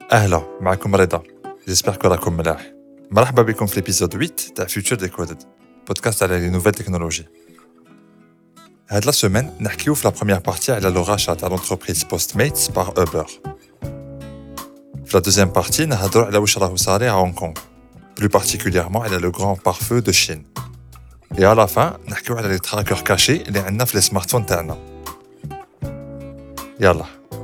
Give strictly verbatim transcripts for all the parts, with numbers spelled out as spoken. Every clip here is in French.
أهلا معكم رضا. J'espère que راكم ملاح. مرحبا بكم في l'épisode huit تاع Future Decoded, podcast على les nouvelles technologies. هاد la semaine نحكيو في la première partie على le rachat تاع l'entreprise Postmates par Uber. في la deuxième partie نهضروا على واش راهو صاري à Hong Kong, plus particulièrement على le grand pare-feu de Chine. Et à la fin نحكيو على les trackers cachés اللي عندنا في les smartphones تاعنا. يلا.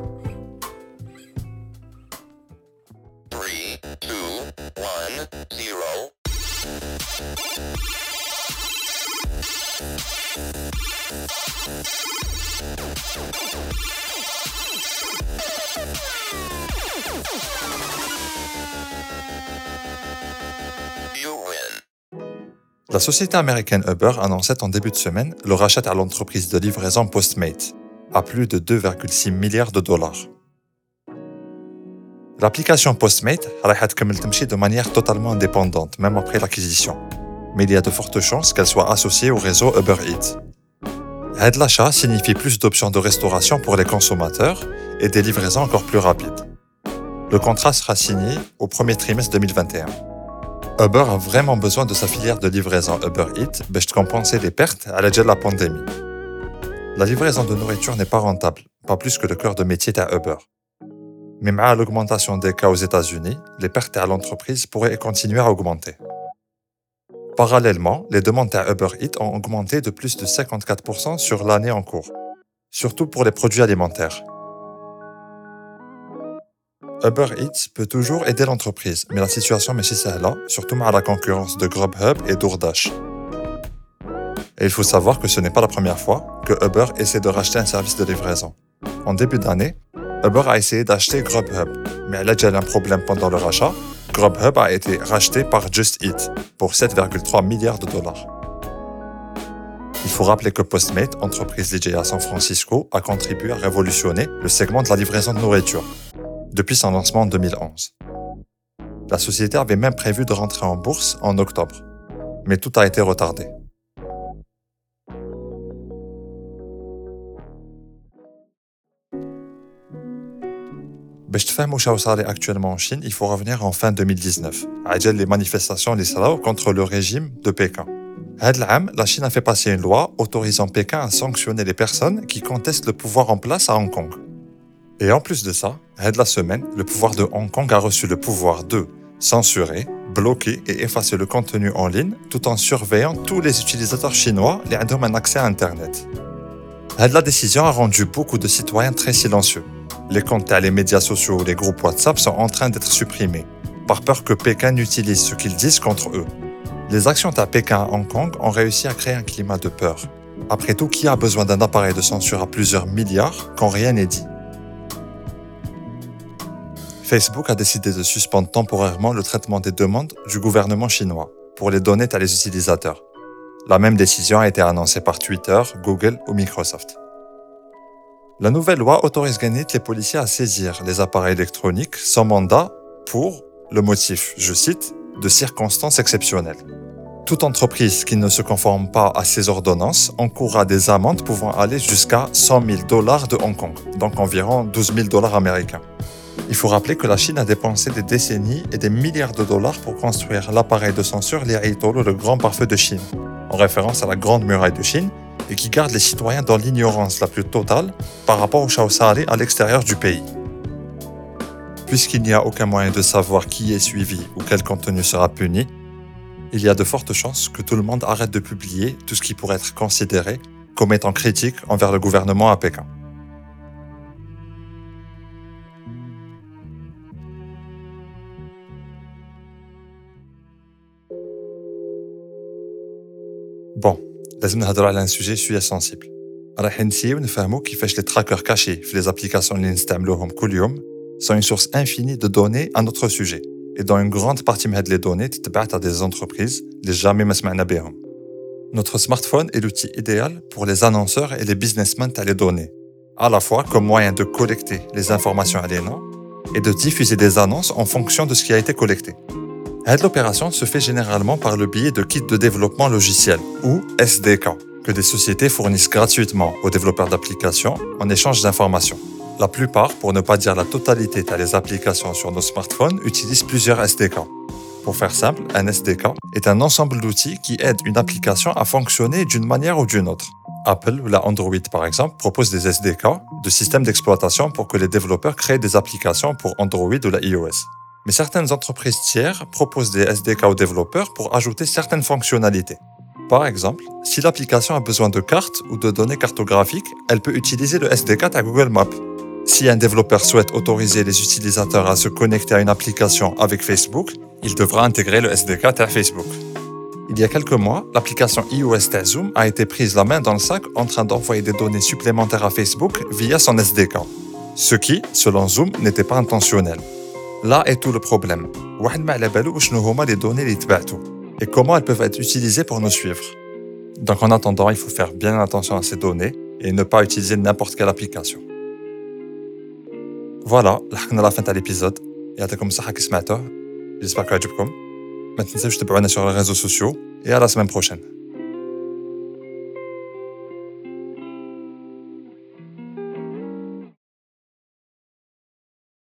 La société américaine Uber annonçait en début de semaine le rachat à l'entreprise de livraison Postmates à plus de deux virgule six milliards de dollars. L'application Postmates راح تكمل تمشي de manière totalement indépendante, même après l'acquisition. Mais il y a de fortes chances qu'elle soit associée au réseau Uber Eats. Cet l'achat signifie plus d'options de restauration pour les consommateurs et des livraisons encore plus rapides. Le contrat sera signé au premier trimestre deux mille vingt et un. Uber a vraiment besoin de sa filière de livraison Uber Eats pour compenser les pertes à la de la pandémie. La livraison de nourriture n'est pas rentable, pas plus que le cœur de métier à Uber. Mais avec l'augmentation des cas aux États-Unis, les pertes à l'entreprise pourraient continuer à augmenter. Parallèlement, les demandes à Uber Eats ont augmenté de plus de cinquante-quatre pour cent sur l'année en cours, surtout pour les produits alimentaires. Uber Eats peut toujours aider l'entreprise, mais la situation est si simple, surtout avec la concurrence de Grubhub et DoorDash. Et il faut savoir que ce n'est pas la première fois que Uber essaie de racheter un service de livraison. En début d'année, Uber a essayé d'acheter Grubhub, mais elle a déjà un problème pendant le rachat. Grubhub a été racheté par Just Eat pour sept virgule trois milliards de dollars. Il faut rappeler que Postmates, entreprise liée à San Francisco, a contribué à révolutionner le segment de la livraison de nourriture depuis son lancement en deux mille onze. La société avait même prévu de rentrer en bourse en octobre, mais tout a été retardé. باش تفهموا شنو صار actuellement en Chine, il faut revenir en fin deux mille dix-neuf, عجل les manifestations اللي صراو contre le régime de Pékin. هاد العام, la Chine a fait passer une loi autorisant Pékin à sanctionner les personnes qui contestent le pouvoir en place à Hong Kong. Et en plus de ça, هاد la semaine, le pouvoir de Hong Kong a reçu le pouvoir de censurer, bloquer et effacer le contenu en ligne tout en surveillant tous les utilisateurs chinois qui ont un accès à Internet. Had la décision a rendu beaucoup de citoyens très silencieux. Les comptes à les médias sociaux ou les groupes WhatsApp sont en train d'être supprimés, par peur que Pékin n'utilise ce qu'ils disent contre eux. Les actions à Pékin à Hong Kong ont réussi à créer un climat de peur. Après tout, qui a besoin d'un appareil de censure à plusieurs milliards quand rien n'est dit? Facebook a décidé de suspendre temporairement le traitement des demandes du gouvernement chinois pour les donner à les utilisateurs. La même décision a été annoncée par Twitter, Google ou Microsoft. La nouvelle loi autorise les policiers à saisir les appareils électroniques sans mandat pour le motif, je cite, de circonstances exceptionnelles. Toute entreprise qui ne se conforme pas à ces ordonnances encourra des amendes pouvant aller jusqu'à cent mille dollars de Hong Kong, donc environ douze mille dollars américains. Il faut rappeler que la Chine a dépensé des décennies et des milliards de dollars pour construire l'appareil de censure Liaitolo, le grand pare-feu de Chine, en référence à la grande muraille de Chine, et qui garde les citoyens dans l'ignorance la plus totale par rapport au Shaosari à l'extérieur du pays. Puisqu'il n'y a aucun moyen de savoir qui est suivi ou quel contenu sera puni, il y a de fortes chances que tout le monde arrête de publier tout ce qui pourrait être considéré comme étant critique envers le gouvernement à Pékin. Bon, لازم نهضروا على un sujet شوية sensible. راح نسيو نفهموا كيفاش les trackers cachés في les applications اللي نستعملوهم كل يوم sont une source infinie de données à notre sujet. Et dans une grande partie de ces données تتبعت à des entreprises اللي jamais ما سمعنا بهم. Notre smartphone est l'outil idéal pour les annonceurs et les businessmen à les données, à la fois comme moyen de collecter les informations aliénantes et de diffuser des annonces en fonction de ce qui a été collecté. Cette opération se fait généralement par le biais de kits de développement logiciel, ou S D K, que des sociétés fournissent gratuitement aux développeurs d'applications en échange d'informations. La plupart, pour ne pas dire la totalité des applications sur nos smartphones, utilisent plusieurs S D K. Pour faire simple, un S D K est un ensemble d'outils qui aident une application à fonctionner d'une manière ou d'une autre. Apple ou la Android, par exemple, propose des S D K, de systèmes d'exploitation pour que les développeurs créent des applications pour Android ou la iOS. Mais certaines entreprises tiers proposent des S D K aux développeurs pour ajouter certaines fonctionnalités. Par exemple, si l'application a besoin de cartes ou de données cartographiques, elle peut utiliser le S D K à Google Maps. Si un développeur souhaite autoriser les utilisateurs à se connecter à une application avec Facebook, il devra intégrer le S D K à Facebook. Il y a quelques mois, l'application iOS de Zoom a été prise la main dans le sac en train d'envoyer des données supplémentaires à Facebook via son S D K. Ce qui, selon Zoom, n'était pas intentionnel. Là est tout le problème. واحد ما على بالو شنو هما les données اللي تبعتو et comment elles peuvent être utilisées pour nous suivre. Donc en attendant, il faut faire bien attention à ces données et ne pas utiliser n'importe quelle application. Voilà, لحقنا la fin de l'épisode. يعطيكم الصحة كي سمعتوه. J'espère que عجبكم. ما تنساوش تتابعونا sur les réseaux sociaux et à la semaine prochaine.